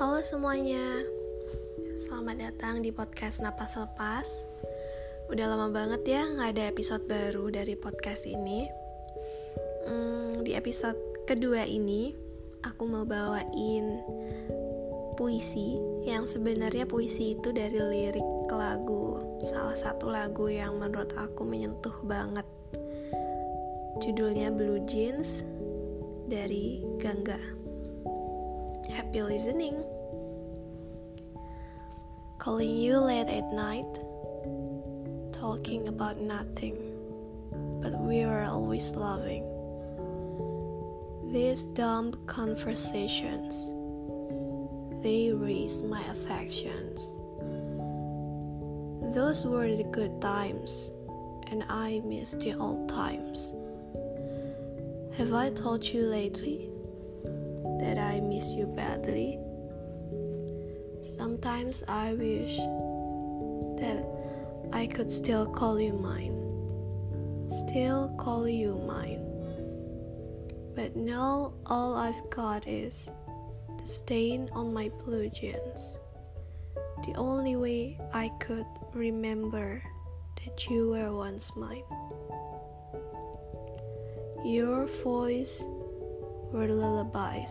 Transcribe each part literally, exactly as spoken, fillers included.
Halo semuanya, selamat datang di podcast Napas Lepas. Udah lama banget ya gak ada episode baru dari podcast ini. hmm, Di episode kedua ini aku mau bawain puisi yang sebenarnya puisi itu dari lirik lagu, salah satu lagu yang menurut aku menyentuh banget. Judulnya Blue Jeans dari Gangga. Happy listening. Calling you late at night, talking about nothing, but we were always loving. These dumb conversations, they raise my affections. Those were the good times, and I miss the old times. Have I told you lately that I miss you badly? Sometimes I wish that I could still call you mine, still call you mine. But now all I've got is the stain on my blue jeans. The only way I could remember that you were once mine. Your voice were lullabies.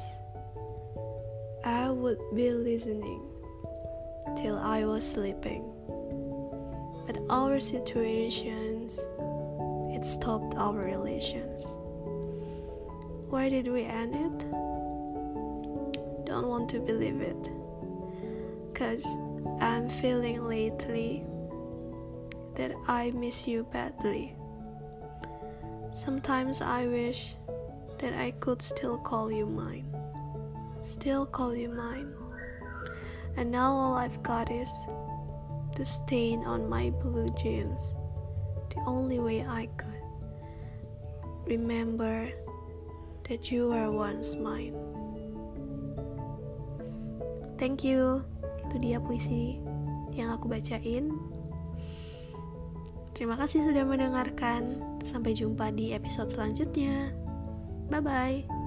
I would be listening till I was sleeping. But our situations, it stopped our relations. Why did we end it? Don't want to believe it, 'cause I'm feeling lately that I miss you badly. Sometimes I wish that I could still call you mine, still call you mine. And now all I've got is the stain on my blue jeans. The only way I could remember that you were once mine. Thank you. Itu dia puisi yang aku bacain. Terima kasih sudah mendengarkan. Sampai jumpa di episode selanjutnya. Bye-bye.